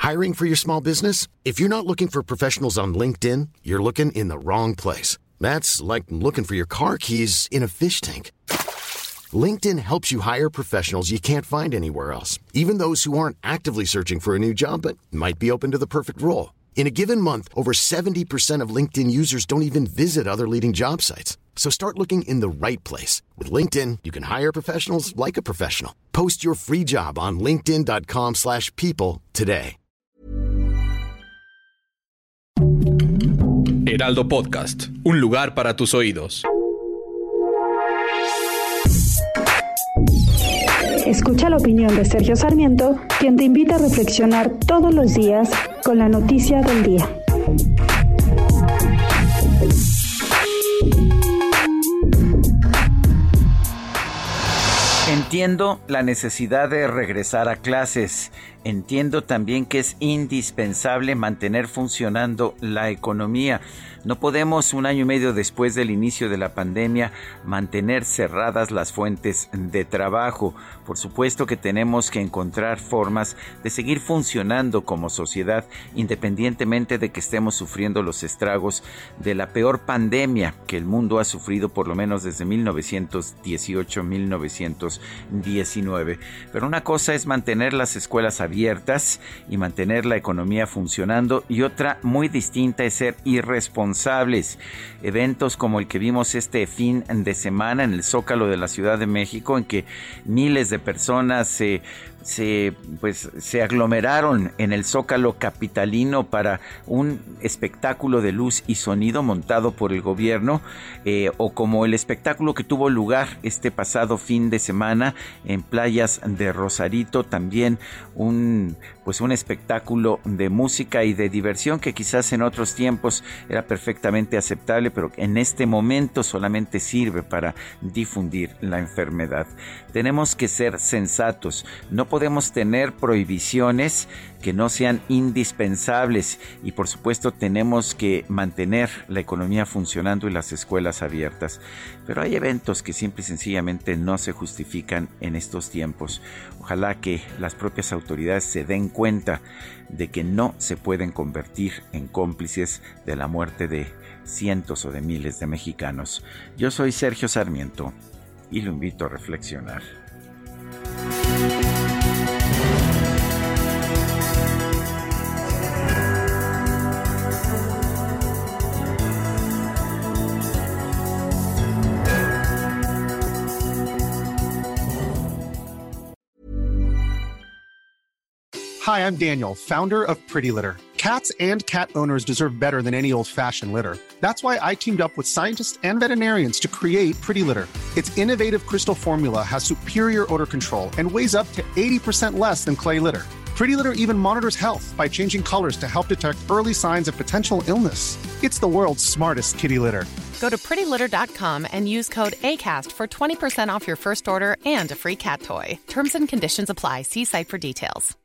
Hiring for your small business? If you're not looking for professionals on LinkedIn, you're looking in the wrong place. That's like looking for your car keys in a fish tank. LinkedIn helps you hire professionals you can't find anywhere else, even those who aren't actively searching for a new job but might be open to the perfect role. In a given month, over 70% of LinkedIn users don't even visit other leading job sites. So start looking in the right place. With LinkedIn, you can hire professionals like a professional. Post your free job on linkedin.com/people today. Heraldo Podcast, un lugar para tus oídos. Escucha la opinión de Sergio Sarmiento, quien te invita a reflexionar todos los días con la noticia del día. Entiendo la necesidad de regresar a clases. Entiendo también que es indispensable mantener funcionando la economía. No podemos, 1 año y medio después del inicio de la pandemia, mantener cerradas las fuentes de trabajo. Por supuesto que tenemos que encontrar formas de seguir funcionando como sociedad, independientemente de que estemos sufriendo los estragos de la peor pandemia que el mundo ha sufrido por lo menos desde 1918-1919. Pero una cosa es mantener las escuelas abiertas y mantener la economía funcionando, y otra muy distinta es ser irresponsables. Eventos como el que vimos este fin de semana en el Zócalo de la Ciudad de México, en que miles de personas se aglomeraron en el Zócalo capitalino para un espectáculo de luz y sonido montado por el gobierno, o como el espectáculo que tuvo lugar este pasado fin de semana en playas de Rosarito, también un espectáculo de música y de diversión que quizás en otros tiempos era perfectamente aceptable, pero en este momento solamente sirve para difundir la enfermedad. Tenemos que ser sensatos. No podemos tener prohibiciones que no sean indispensables, y por supuesto tenemos que mantener la economía funcionando y las escuelas abiertas. Pero hay eventos que simple y sencillamente no se justifican en estos tiempos. Ojalá que las propias autoridades se den cuenta de que no se pueden convertir en cómplices de la muerte de cientos o de miles de mexicanos. Yo soy Sergio Sarmiento y lo invito a reflexionar. Hi, I'm Daniel, founder of Pretty Litter. Cats and cat owners deserve better than any old-fashioned litter. That's why I teamed up with scientists and veterinarians to create Pretty Litter. Its innovative crystal formula has superior odor control and weighs up to 80% less than clay litter. Pretty Litter even monitors health by changing colors to help detect early signs of potential illness. It's the world's smartest kitty litter. Go to prettylitter.com and use code ACAST for 20% off your first order and a free cat toy. Terms and conditions apply. See site for details.